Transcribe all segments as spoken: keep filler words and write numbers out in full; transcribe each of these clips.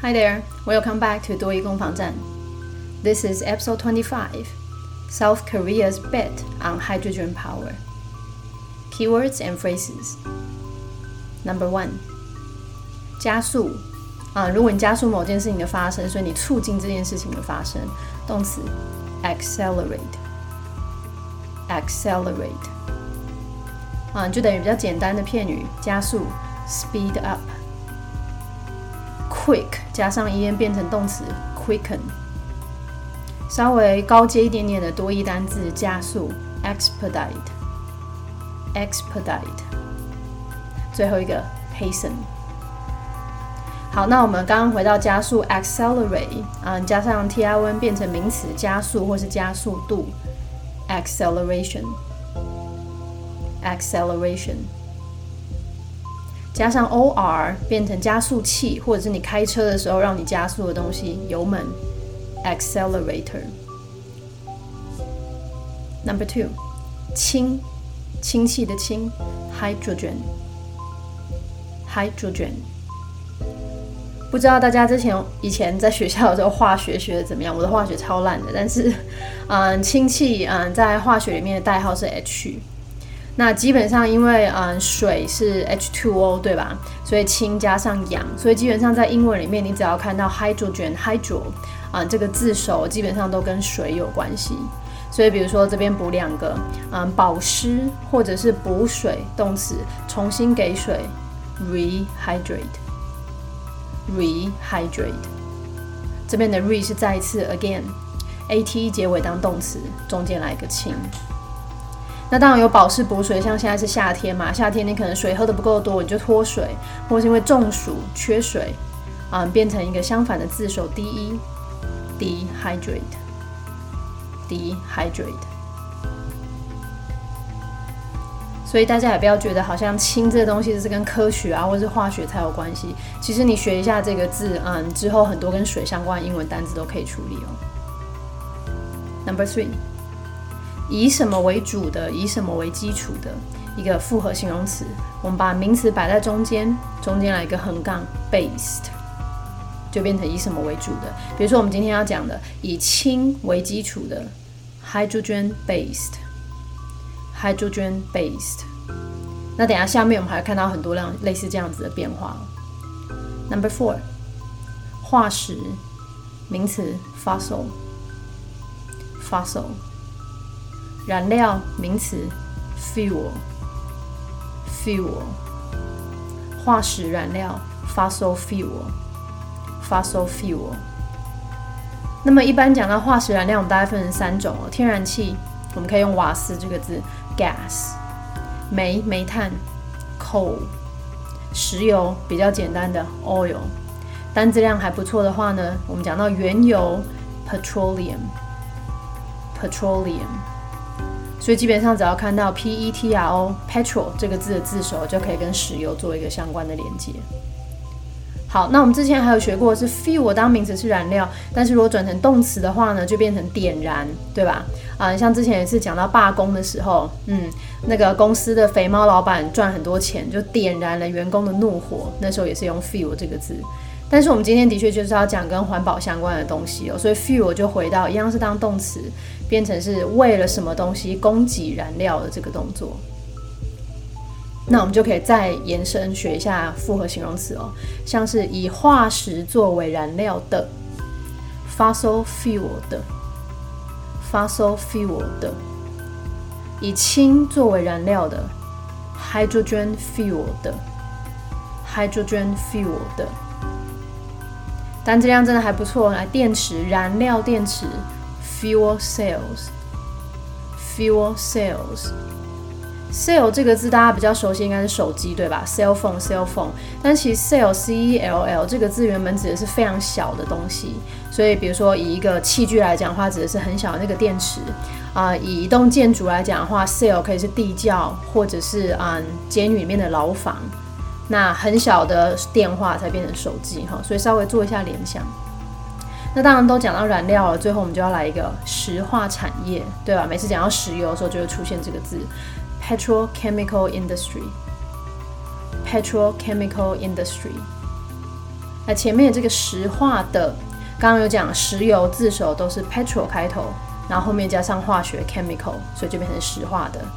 Hi there, welcome back to 多益攻防战. This is episode twenty-five, South Korea's bet on hydrogen power. Keywords and phrases. Number one, 加速啊，如果你加速某件事情的发生，所以你促进这件事情的发生，动词 accelerate, accelerate 啊，就等于比较简单的片语，加速 speed up。Quick 加上 en 变成动词 quicken， 稍微高阶一点点的多义单字加速 expedite expedite， 最后一个 hasten。 好，那我们刚刚回到加速 accelerate 啊，加上 tion 变成名词加速或是加速度 acceleration acceleration，加上 or 变成加速器，或者是你开车的时候让你加速的东西，油门 accelerator。 Number two, 氢，氢气的氢 hydrogen hydrogen。 不知道大家之前以前在学校的时候化学学的怎么样？我的化学超烂的，但是嗯，氢气嗯在化学里面的代号是 H。那基本上因为嗯水是 H two O 对吧，所以氢加上氧，所以基本上在英文里面你只要看到 hydrogen hydro 嗯这个字首基本上都跟水有关系，所以比如说这边补两个嗯保湿或者是补水动词重新给水 rehydrate rehydrate， 这边的 re 是再一次 again at 结尾当动词，中间来一个氢。那当然有保湿补水，像现在是夏天嘛，夏天你可能水喝得不够多，你就脱水，或是因为中暑缺水，嗯，变成一个相反的字首 de dehydrate dehydrate。所以大家也不要觉得好像氢这个东西是跟科学啊或是化学才有关系，其实你学一下这个字，嗯，之后很多跟水相关的英文单字都可以处理哦。Number three。以什么为主的，以什么为基础的一个复合形容词，我们把名词摆在中间，中间来一个横杠 based， 就变成以什么为主的。比如说我们今天要讲的以氢为基础的 hydrogen based hydrogen based。 那等一下下面我们还会看到很多类似这样子的变化。 Number four， 化石名词 fossil fossil，燃料名词 fuel fuel， 化石燃料 fossil fuel fossil fuel。 那么一般讲到化石燃料，我们大概分成三种哦。天然气我们可以用瓦斯这个字 gas， 煤煤炭 coal， 石油比较简单的 oil， 单字量还不错的话呢，我们讲到原油 petroleum petroleum。所以基本上只要看到 P-E-T-R-O petrol 这个字的字首，就可以跟石油做一个相关的连接。好，那我们之前还有学过是 fuel 当名词是燃料，但是如果转成动词的话呢，就变成点燃，对吧？啊，像之前有一次讲到罢工的时候，嗯，那个公司的肥猫老板赚很多钱，就点燃了员工的怒火，那时候也是用 fuel 这个字。但是我们今天的确就是要讲跟环保相关的东西哦，所以 fuel 就回到一样是当动词，变成是为了什么东西供给燃料的这个动作。那我们就可以再延伸学一下复合形容词哦，像是以化石作为燃料的 fossil fuel 的 fossil fuel 的，以氢作为燃料的 hydrogen fuel 的 hydrogen fuel 的。单质量真的还不错，来电池燃料电池 fuel cells fuel cells。 cell 这个字大家比较熟悉应该是手机对吧， cell phone cell phone， 但其实 cell C E L L 这个字原本指的是非常小的东西，所以比如说以一个器具来讲的话，指的是很小的那个电池啊、呃。以一栋建筑来讲的话， cell 可以是地窖或者是嗯监狱里面的牢房，那很小的电话才变成手机哈，所以稍微做一下联想。那当然都讲到燃料了，最后我们就要来一个石化产业，对吧？每次讲到石油的时候就会出现这个字 petrochemical industry petrochemical industry。 那前面这个石化的，刚刚有讲石油字首都是 petro 开头，然后后面加上化学 chemical， 所以就变成石化的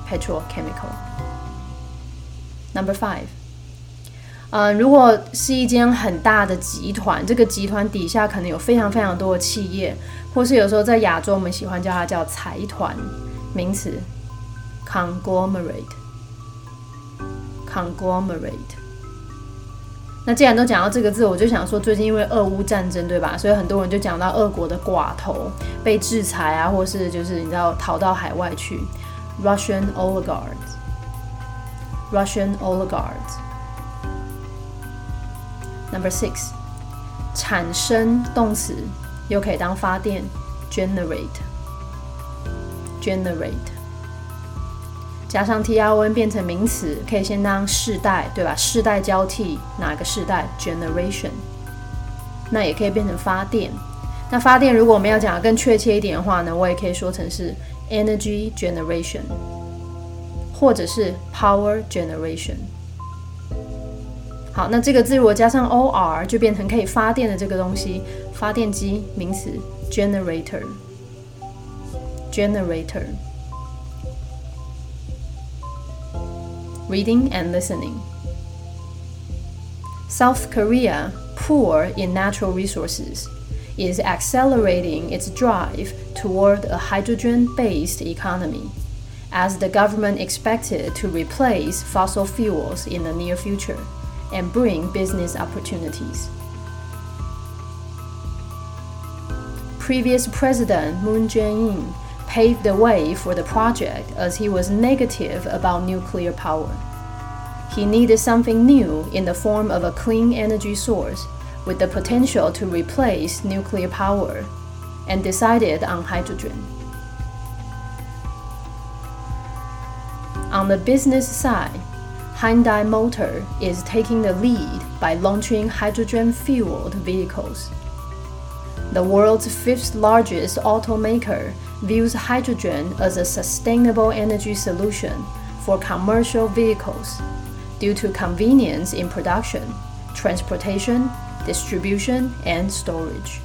petrochemical。Number five， 呃，如果是一间很大的集团，这个集团底下可能有非常非常多的企业，或是有时候在亚洲我们喜欢叫它叫财团，名词 conglomerate。conglomerate。那既然都讲到这个字，我就想说，最近因为俄乌战争，对吧？所以很多人就讲到俄国的寡头被制裁啊，或是就是你知道逃到海外去 ，Russian oligarchs。Russian oligarchs。Number six， 产生动词又可以当发电 ，generate。generate。加上 tron 变成名词，可以先当世代，对吧？世代交替，哪个世代 generation？ 那也可以变成发电。那发电如果我们要讲的更确切一点的话呢，我也可以说成是 energy generation， 或者是 power generation。好，那这个字如果加上 or 就变成可以发电的这个东西，发电机名词 generator。generator。Reading and listening. South Korea, poor in natural resources, is accelerating its drive toward a hydrogen-based economy, as the government expected to replace fossil fuels in the near future and bring business opportunities. Previous President Moon Jae-in paved the way for the project as he was negative about nuclear power. He needed something new in the form of a clean energy source with the potential to replace nuclear power, and decided on hydrogen. On the business side, Hyundai Motor is taking the lead by launching hydrogen-fueled vehicles. The world's fifth largest automaker views hydrogen as a sustainable energy solution for commercial vehicles due to convenience in production, transportation, distribution, and storage.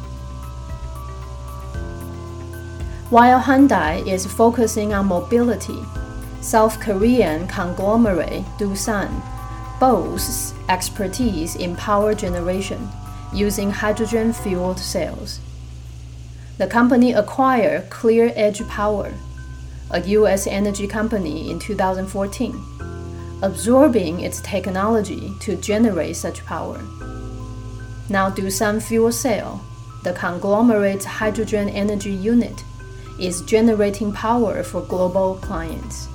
While Hyundai is focusing on mobility, South Korean conglomerate Doosan boasts expertise in power generation using hydrogen-fueled cells. The company acquired Clear Edge Power, a U S energy company, in two thousand fourteen, absorbing its technology to generate such power. Now Doosan Fuel Cell, the conglomerate's hydrogen energy unit, is generating power for global clients.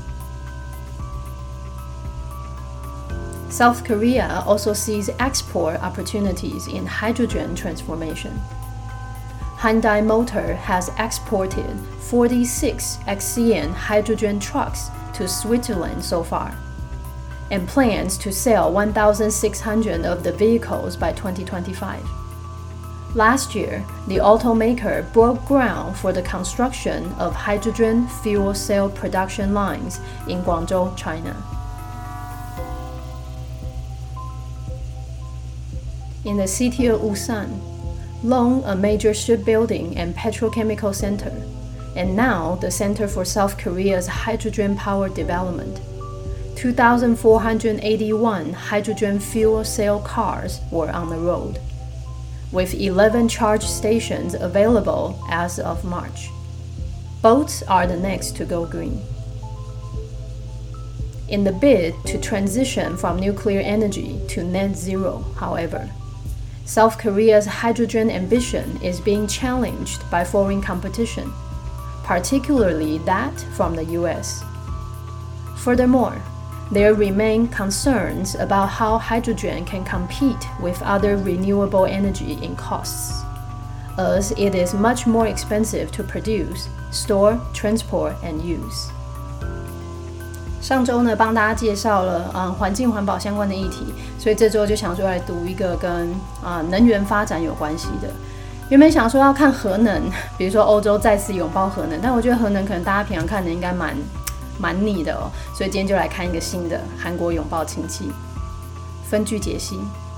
South Korea also sees export opportunities in hydrogen transformation. Hyundai Motor has exported forty-six X C N hydrogen trucks to Switzerland so far, and plans to sell one thousand six hundred of the vehicles by twenty twenty-five. Last year, the automaker broke ground for the construction of hydrogen fuel cell production lines in Guangzhou, China. In the city of Ulsan, long a major shipbuilding and petrochemical center, and now the Center for South Korea's hydrogen power development, two thousand four hundred eighty-one hydrogen fuel cell cars were on the road, with eleven charge stations available as of March. Boats are the next to go green. In the bid to transition from nuclear energy to net zero, however, South Korea's hydrogen ambition is being challenged by foreign competition, particularly that from the U S. Furthermore, there remain concerns about how hydrogen can compete with other renewable energy in costs, as it is much more expensive to produce, store, transport, and use. 上周呢，帮大家介绍了嗯环境环保相关的议题，所以这周就想说来读一个跟啊、呃、能源发展有关系的。原本想说要看核能，比如说欧洲再次拥抱核能，但我觉得核能可能大家平常看的应该蛮蛮腻的哦，所以今天就来看一个新的韩国拥抱氢气。分句解析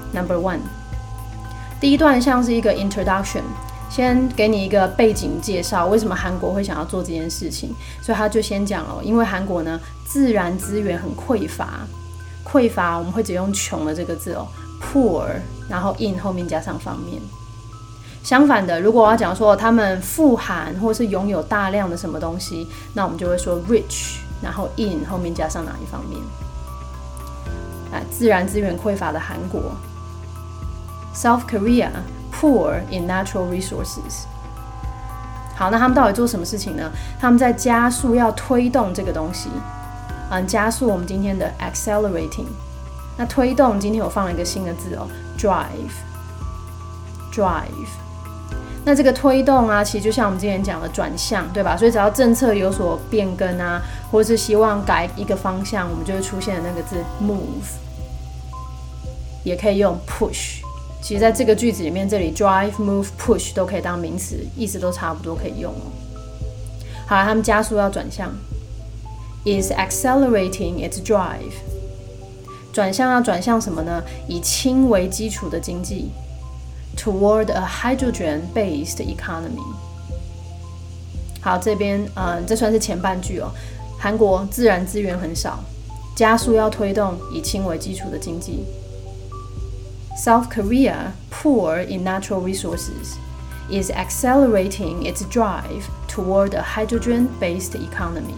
Number one， 第一段像是一个 introduction， 先给你一个背景介绍，为什么韩国会想要做这件事情。所以他就先讲了，因为韩国呢自然资源很匮乏，匮乏我们会只用穷的这个字哦 ，poor， 然后 in 后面加上方面。相反的，如果我要讲说他们富含或是拥有大量的什么东西，那我们就会说 rich， 然后 in 后面加上哪一方面？哎，自然资源匮乏的韩国 ，South Korea poor in natural resources。好，那他们到底做什么事情呢？他们在加速要推动这个东西，嗯，加速我们今天的 accelerating。那推动今天我放了一个新的字哦 ，drive，drive。那这个推动啊，其实就像我们之前讲的转向，对吧？所以只要政策有所变更啊，或是希望改一个方向，我们就会出现的那个字 move， 也可以用 push。其实在这个句子里面，这里 drive、move、push 都可以当名词，意思都差不多，可以用哦。好了，他们加速要转向 ，is accelerating its drive。转向要转向什么呢？以氢为基础的经济。Toward a hydrogen-based economy。好，这边嗯，这算是前半句哦。韩国自然资源很少，加速要推动以氢为基础的经济。South Korea, poor in natural resources, is accelerating its drive toward a hydrogen-based economy。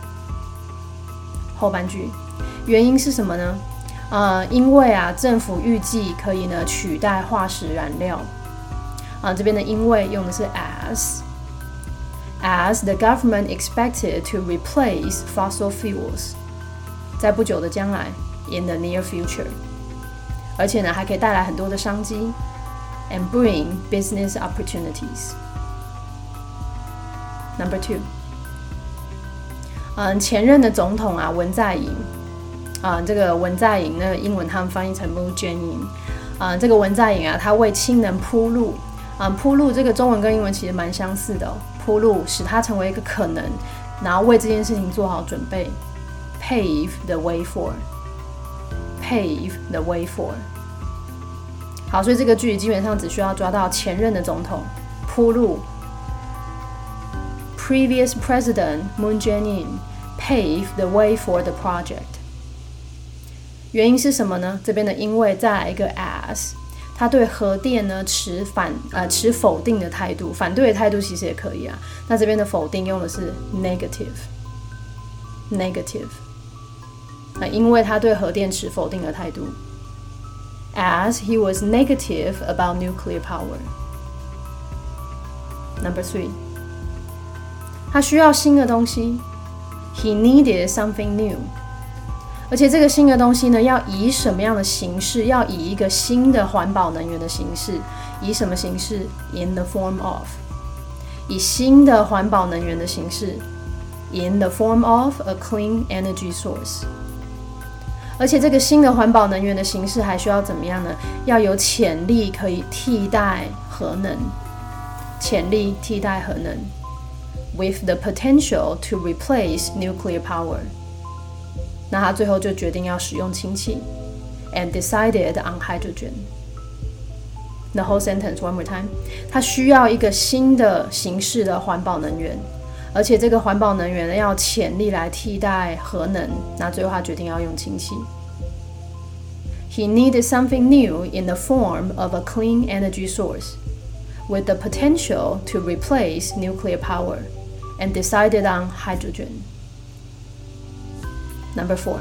后半句，原因是什么呢？呃，因为啊，政府预计可以呢取代化石燃料。啊，这边的因为用的是 as，as the government expected to replace fossil fuels， 在不久的将来 ，in the near future， 而且呢还可以带来很多的商机 ，and bring business opportunities。Number two， 嗯，前任的总统啊文在寅。啊、呃，这个文在寅那个英文他们翻译成 Moon Jae-in， 啊、呃，这个文在寅啊，他为氢能铺路，啊、呃，铺路这个中文跟英文其实蛮相似的、哦，铺路使它成为一个可能，然后为这件事情做好准备 ，pave the way for，pave the way for。好，所以这个句基本上只需要抓到前任的总统铺路 ，previous president Moon Jae-in pave the way for the project。原因是什么呢？这边的因为再来一个 as， 他对核电呢持反呃持否定的态度，反对的态度其实也可以啊。那这边的否定用的是 negative，negative。那因为他对核电持否定的态度 ，as he was negative about nuclear power。Number three， 他需要新的东西 ，he needed something new。而且这个新的东西呢，要以什么样的形式？要以一个新的环保能源的形式，以什么形式 ？In the form of， 以新的环保能源的形式 ，in the form of a clean energy source。而且这个新的环保能源的形式还需要怎么样呢？要有潜力可以替代核能，潜力替代核能 ，with the potential to replace nuclear power。那他最后就决定要使用氢气 ，and decided on hydrogen。The whole sentence one more time。他需要一个新的形式的环保能源，而且这个环保能源呢要潜力来替代核能。那最后他决定要用氢气。He needed something new in the form of a clean energy source, with the potential to replace nuclear power, and decided on hydrogen。Number four，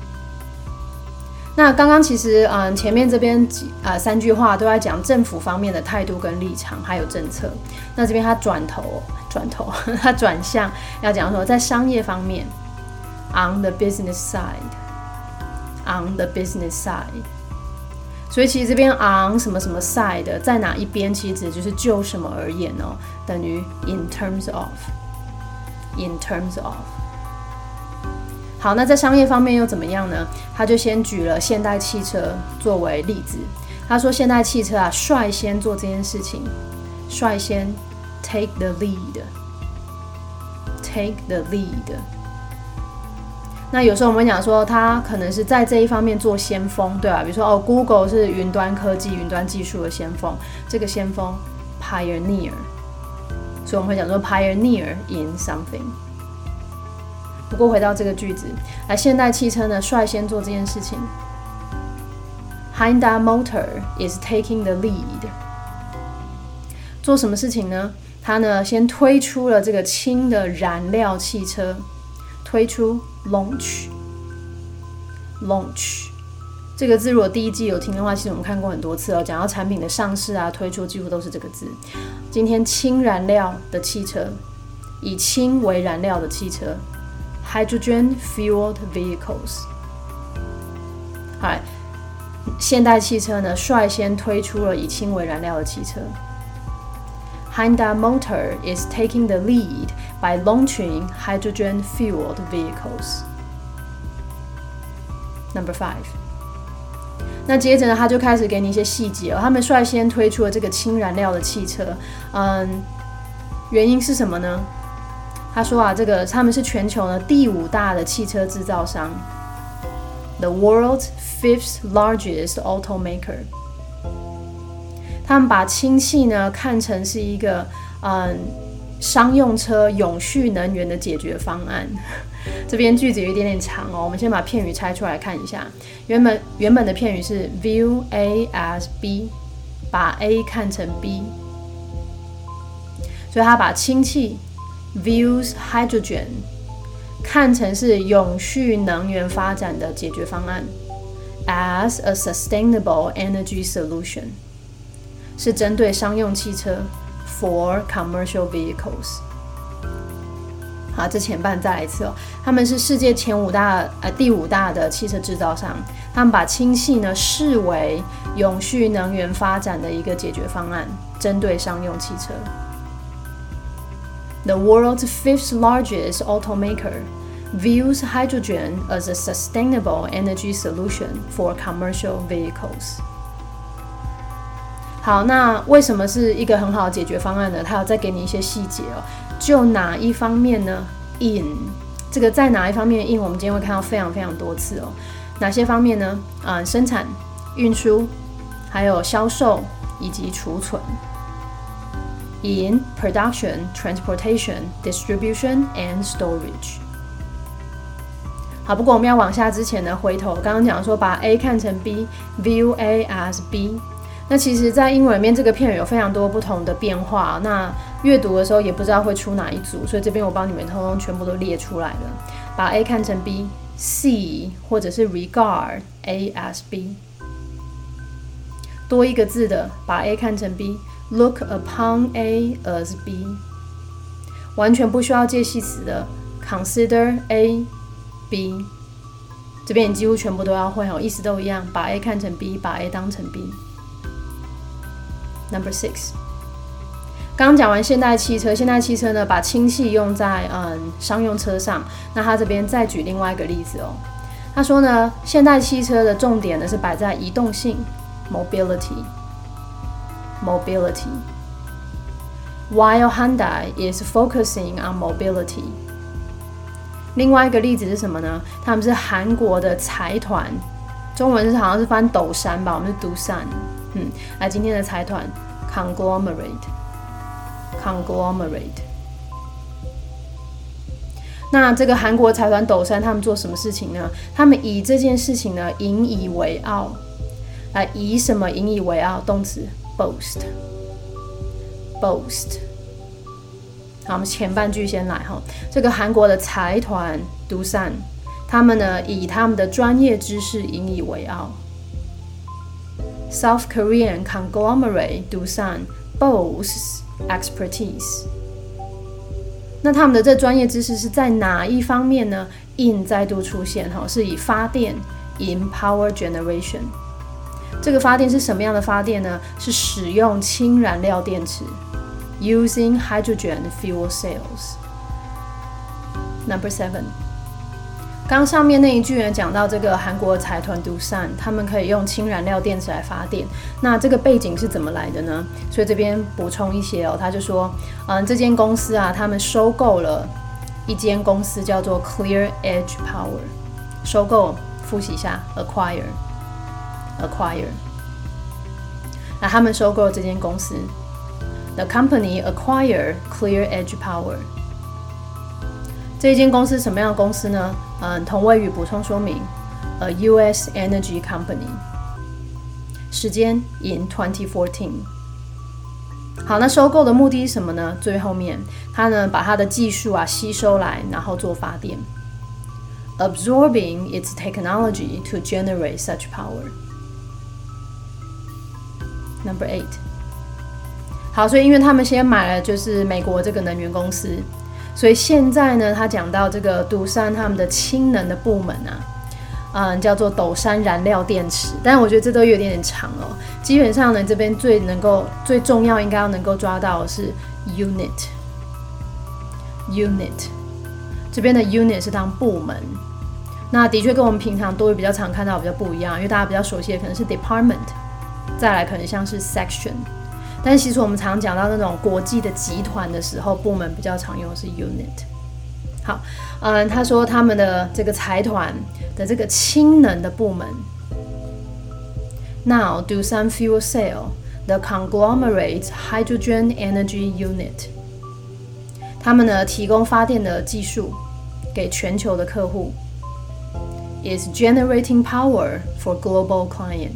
那刚刚其实嗯前面这边呃三句话都在讲政府方面的态度跟立场还有政策，那这边他转头转头他转向要讲说在商业方面 on the business side on the business side， 所以其实这边 on 什么什么 side 在哪一边其实指的就是就什么而言哦，等于 in terms of in terms of。好，那在商业方面又怎么样呢？他就先举了现代汽车作为例子。他说现代汽车啊，率先做这件事情，率先 take the lead，take the lead。 那有时候我们会讲说，它可能是在这一方面做先锋，对吧？比如说哦 ，Google 是云端科技、云端技术的先锋，这个先锋 pioneer， 所以我们会讲说 pioneer in something。不过回到这个句子，来，现代汽车呢率先做这件事情。Hyundai Motor is taking the lead。做什么事情呢？它呢先推出了这个氢的燃料汽车，推出 launch launch 这个字，如果第一季有听的话，其实我们看过很多次哦。讲到产品的上市啊、推出，几乎都是这个字。今天氢燃料的汽车，以氢为燃料的汽车 ，hydrogen fueled vehicles。好，现代汽车呢率先推出了以氢为燃料的汽车。Hyundai Motor is taking the lead by launching hydrogen-fueled vehicles. Number five. 那接着呢，他就开始给你一些细节哦。他们率先推出了这个氢燃料的汽车，嗯，原因是什么呢？他说啊，这个他们是全球呢第五大的汽车制造商 ，the world's fifth largest automaker。他们把氢气呢看成是一个嗯商用车永续能源的解决方案。这边句子有一点点长哦，我们先把片语拆出来看一下。原本原本的片语是 view A as B， 把 A 看成 B， 所以他把氢气 views hydrogen 看成是永续能源发展的解决方案 as a sustainable energy solution。是针对商用汽车 for commercial vehicles。好，这前半再来一次哦。他们是世界前五大呃第五大的汽车制造商，他们把氢气呢视为永续能源发展的一个解决方案，针对商用汽车。The world's fifth largest automaker views hydrogen as a sustainable energy solution for commercial vehicles。好，那为什么是一个很好的解决方案呢？它有再给你一些细节哦。就哪一方面呢 ？in 这个在哪一方面 in， 我们今天会看到非常非常多次哦。哪些方面呢？啊、嗯，生产、运输，还有销售以及储存。In production, transportation, distribution, and storage。好，不过我们要往下之前呢，回头刚刚讲说把 A 看成 B，view A as B。那其实，在英文里面这个片语有非常多不同的变化，那阅读的时候也不知道会出哪一组，所以这边我帮你们通通全部都列出来了。把 A 看成 B，see 或者是 regard A as B。多一个字的，把 A 看成 B，look upon A as B。完全不需要介系词的 ，consider A B。这边你几乎全部都要会哦，意思都一样，把 A 看成 B， 把 A 当成 B。Number six， 刚刚讲完现代汽车，现代汽车呢把氢气用在嗯商用车上，那他这边再举另外一个例子哦。他说呢，现代汽车的重点呢是摆在移动性 mobility mobility， while Hyundai is focusing on mobility。另外一个例子是什么呢？他们是韩国的财团，中文是好像是翻斗山吧，我们是Doosan。嗯，来今天的财团 conglomerate conglomerate。那这个韩国财团斗山他们做什么事情呢？他们以这件事情呢引以为傲。来，以什么引以为傲？动词 boast boast。好，我们前半句先来哈。这个韩国的财团 Doosan， 他们呢以他们的专业知识引以为傲。South Korean conglomerate Doosan boasts expertise。那他们的这专业知识是在哪一方面呢 ？in 再度出现哈，是以发电 in power generation。这个发电是什么样的发电呢？是使用氢燃料电池 ，using hydrogen fuel cells。Number seven。刚上面那一句呢，讲到这个韩国财团 Doosan， 他们可以用氢燃料电池来发电。那这个背景是怎么来的呢？所以这边补充一些哦，他就说，嗯，这间公司啊，他们收购了一间公司叫做 Clear Edge Power。 收购，复习一下 acquire，acquire。那他们收购了这间公司 ，the company acquired Clear Edge Power。这一间公司什么样的公司呢？嗯，同位语补充说明 ，a U S energy company。时间 in twenty fourteen。好，那收购的目的是什么呢？最后面，他呢把他的技术啊吸收来，然后做发电 ，absorbing its technology to generate such power。Number eight。好，所以因为他们先买了就是美国这个能源公司，所以现在呢，他讲到这个杜山他们的氢能的部门啊，嗯，叫做斗山燃料电池，但我觉得这都有点点长哦。基本上呢，这边最能够最重要应该要能够抓到的是 unit，unit， 这边的 unit 是当部门，那的确跟我们平常都会比较常看到比较不一样，因为大家比较熟悉的可能是 department， 再来可能像是 section。但是其实我们常讲到那种国际的集团的时候，部门比较常用的是 unit。好，嗯，他说他们的这个财团的这个氢能的部门 ，Now Doosan Fuel Cell, the conglomerate's hydrogen energy unit， 他们呢提供发电的技术给全球的客户 ，is generating power for global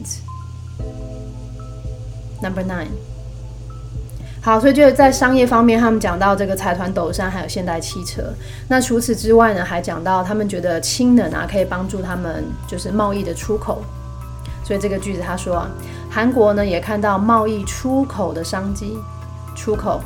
clients。Number nine。好，所以就是在商业方面，他们讲到这个财团斗山还有现代汽车。那除此之外呢，还讲到他们觉得氢能啊可以帮助他们就是贸易的出口。所以这个句子他说啊，韩国呢也看到贸易出口的商机，出口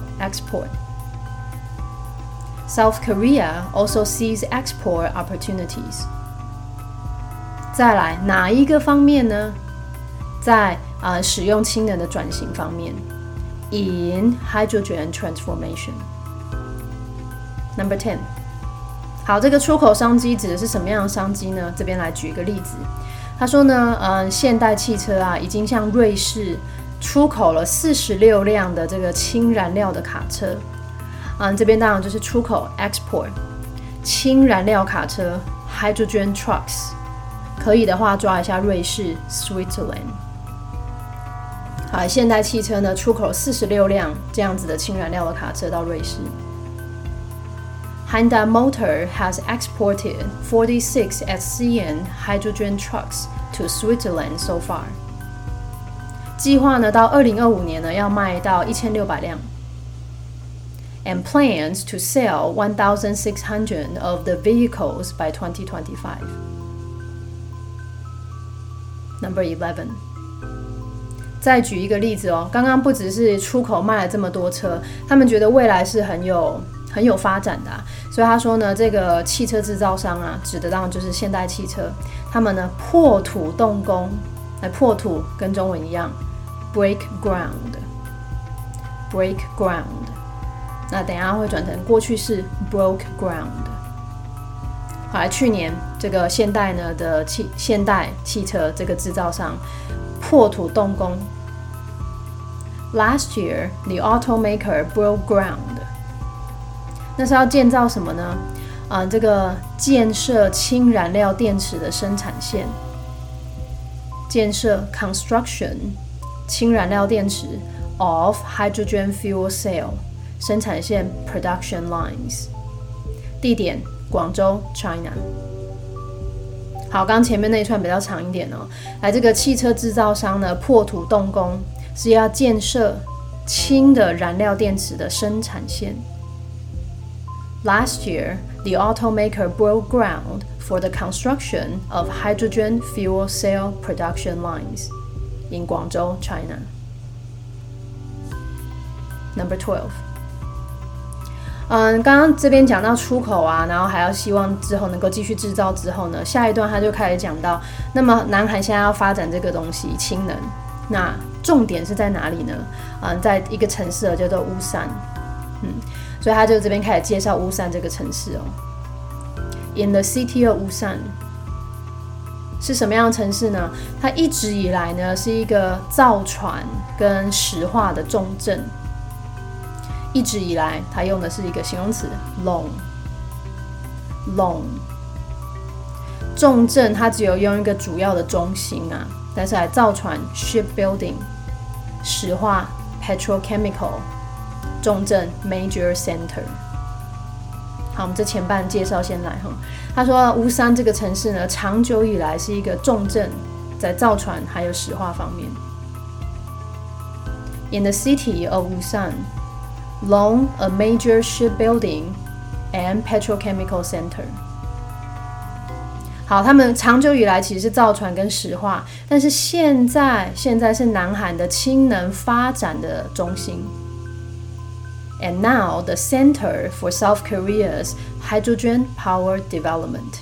export。South Korea also sees export opportunities。再来哪一个方面呢？在啊、呃、使用氢能的转型方面。In hydrogen transformation. Number ten. 好，这个出口商机指的是什么样的商机呢？这边来举一个例子。他说呢，嗯，现代汽车啊，已经向瑞士出口了四十六辆的这个氢燃料的卡车。嗯，这边当然就是出口 export 氢燃料卡车 hydrogen trucks。可以的话，抓一下瑞士 Switzerland。好，现代汽车呢出口四十六辆这样子的氢燃料的卡车到瑞士。Hyundai Motor has exported forty-six S C N hydrogen trucks to Switzerland so far。计划呢到二零二五年呢要卖到一千六百辆。And plans to sell one thousand six hundred of the vehicles by twenty twenty-five。Number eleven。再举一个例子哦，刚刚不只是出口卖了这么多车，他们觉得未来是很有很有发展的、啊，所以他说呢，这个汽车制造商啊，指的当然就是现代汽车，他们呢破土动工，来破土跟中文一样 ，break ground，break ground， 那等一下会转成过去式 broke ground。好，来去年这个现代呢的汽现代汽车这个制造商破土动工。Last year, the automaker broke ground. 那是要建造什么呢？啊、呃，这个建设氢燃料电池的生产线，建设 construction 氢燃料电池 of hydrogen fuel cell 生产线 production lines。地点广州 China。好，刚前面那一串比较长一点哦。来，这个汽车制造商呢破土动工，是要建设氢的燃料电池的生产线。Last year, the automaker broke ground for the construction of hydrogen fuel cell production lines in Guangzhou, China. Number twelve. 嗯，刚刚这边讲到出口啊，然后还要希望之后能够继续制造之后呢，下一段他就开始讲到，那么南韩现在要发展这个东西氢能，那重点是在哪里呢？嗯，在一个城市叫做乌山，嗯，所以他就这边开始介绍乌山这个城市哦。In the city of Busan 是什么样的城市呢？它一直以来呢是一个造船跟石化的重镇。一直以来，它用的是一个形容词 long，long。 重镇它只有用一个主要的中心啊，但是来造船 shipbuilding， 石化 petrochemical， 重镇 major center。好，我们这前半介绍先来哈。他说乌山这个城市呢，长久以来是一个重镇，在造船还有石化方面。In the city of Ulsan, long a major shipbuilding and petrochemical center。好，他们长久以来其实是造船跟石化，但是现在现在是南韩的氢能发展的中心。And now the center for South Korea's hydrogen power development。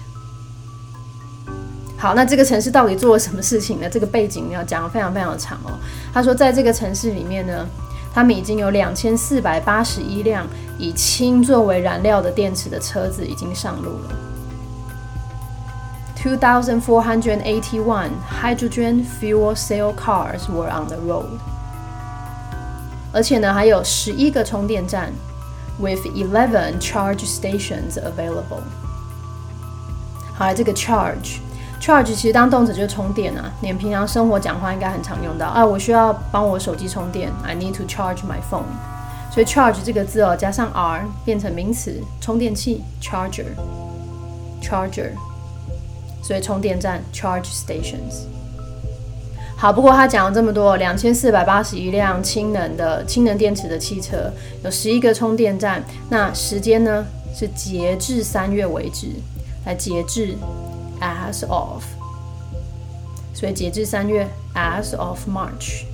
好，那这个城市到底做了什么事情呢？这个背景要讲得非常非常的长哦。他说，在这个城市里面呢，他们已经有两千四百八十一辆以氢作为燃料的电池的车子已经上路了。two thousand four hundred eighty-one hydrogen fuel cell cars were on the road。而且呢，还有十一个充电站 ，with eleven charge stations available。好，这个 charge。Charge 其实当动词就是充电啊，你们平常生活讲话应该很常用到啊。我需要帮我手机充电 ，I need to charge my phone。所以 charge 这个字哦，加上 r 变成名词，充电器 charger，charger。所以充电站 charge stations。好，不过他讲了这么多，两千四百八十一辆氢能的氢能电池的汽车，有十一个充电站。那时间呢是截至三月为止，来截至 as of， 所以截至三月 as of March。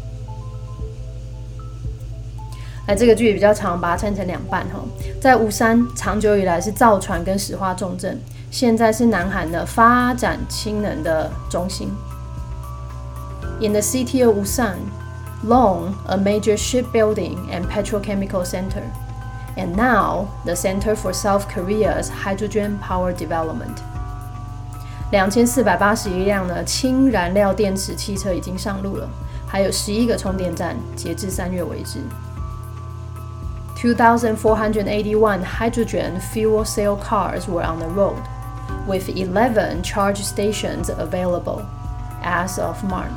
来，这个句比较长，把它拆成两半哈。在乌山长久以来是造船跟石化重镇，现在是南韩的发展氢能的中心。In the city of Ulsan, long a major shipbuilding and petrochemical center, and now the Center for South Korea's hydrogen power development。两千四百八十一辆呢氢燃料电池汽车已经上路了，还有十一个充电站，截至三月为止。two thousand four hundred eighty-one hydrogen fuel cell cars were on the road, with eleven charge stations available as of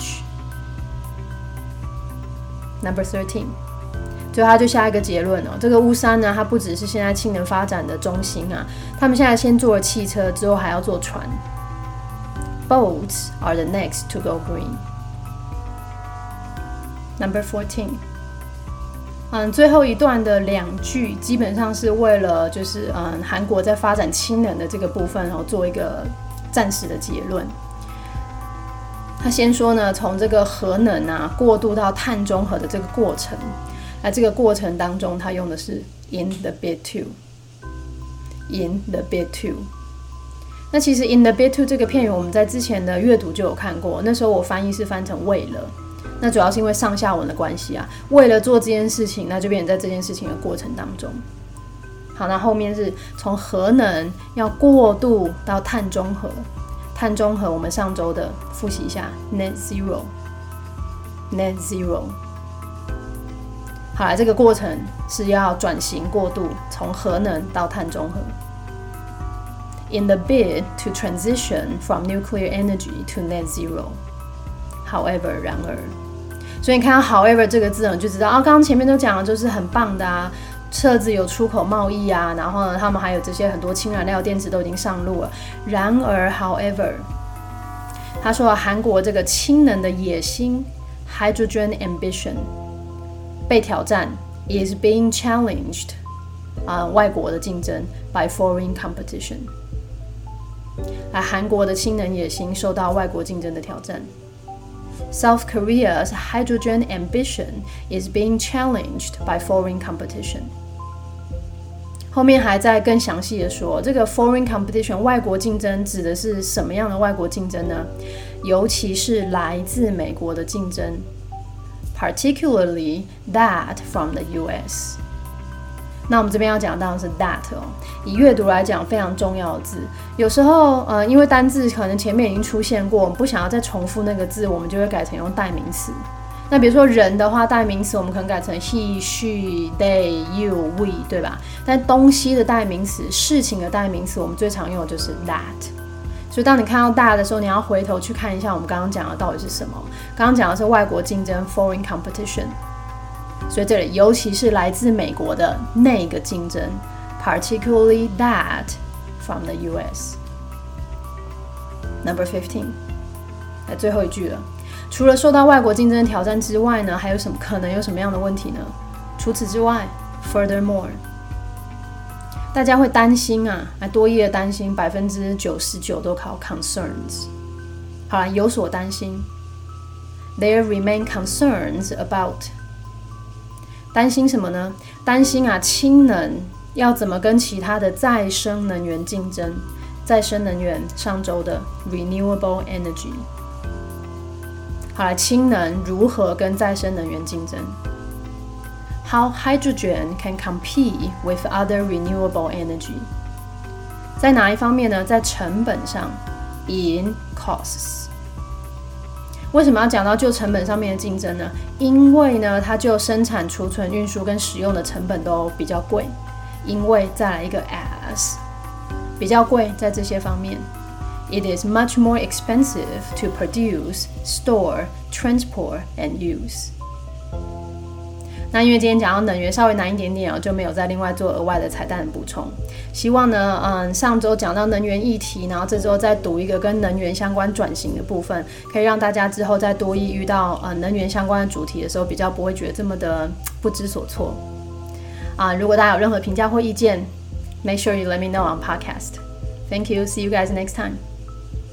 March。Number thirteen， 最后他就下一个结论哦，这个乌山呢，它不只是现在氢能发展的中心啊，他们现在先做了汽车，之后还要做船。Boats are the next to go green. Number fourteen， 嗯，最后一段的两句基本上是为了就是嗯韩国在发展氢能的这个部分哦做一个暂时的结论。他先说呢，从这个核能啊过渡到碳中和的这个过程，那这个过程当中，他用的是 in the bid to，in the bid to。那其实 in the bid to 这个片语，我们在之前的阅读就有看过，那时候我翻译是翻成为了，那主要是因为上下文的关系啊，为了做这件事情，那就变成在这件事情的过程当中。好，那后面是从核能要过渡到碳中和。碳中和，我们上周的复习一下 net zero net zero。 好来，这个过程是要转型过渡，从核能到碳中和。 In the bid to transition from nuclear energy to net zero. However， 然而，所以你看到 however 这个字，你就知道啊，刚刚前面都讲了，就是很棒的啊，车子有出口贸易啊，然后呢，他们还有这些很多氢燃料电池都已经上路了。然而 ，however， 他说韩国这个氢能的野心 （hydrogen ambition） 被挑战 ，is being challenged 啊、呃，外国的竞争 by foreign competition。啊，韩国的氢能野心受到外国竞争的挑战。South Korea's hydrogen ambition is being challenged by foreign competition。后面还在更详细的说，这个 foreign competition 外国竞争指的是什么样的外国竞争呢？尤其是来自美国的竞争 ，particularly that from the U S。那我们这边要讲到的是 that 哦，以阅读来讲非常重要的字。有时候，呃，因为单字可能前面已经出现过，我们不想要再重复那个字，我们就会改成用代名词。那比如说人的话，代名词我们可能改成 he, she, they, you, we， 对吧？但东西的代名词、事情的代名词，我们最常用的就是 that。 所以当你看到大的时候，你要回头去看一下我们刚刚讲的到底是什么。刚刚讲的是外国竞争 foreign competition， 所以这里尤其是来自美国的那个竞争 particularly that from the U S。 Number fifteen， 来最后一句了，除了受到外国竞争的挑战之外呢，还有什么可能有什么样的问题呢？除此之外 furthermore，大家会担心啊，来多益的担心，百分之九十九都考 concerns。好了，有所担心。There remain concerns about。担心什么呢？担心啊，氢能要怎么跟其他的再生能源竞争？再生能源上周的 renewable energy。好了，氢能如何跟再生能源竞争？How hydrogen can compete with other renewable energy？ 在哪一方面呢？在成本上 ，in costs。为什么要讲到就成本上面的竞争呢？因为呢，它就生产、储存、运输跟使用的成本都比较贵。因为再来一个 as， 比较贵在这些方面。It is much more expensive to produce, store, transport, and use。那因为今天讲到能源稍微难一点点，就没有再另外做额外的彩蛋的补充。希望呢，嗯，上周讲到能源议题，然后这周再读一个跟能源相关转型的部分，可以让大家之后在多益遇到呃能源相关的主题的时候，比较不会觉得这么的不知所措。啊，如果大家有任何评价或意见 ，make sure you let me know on podcast. Thank you. See you guys next time.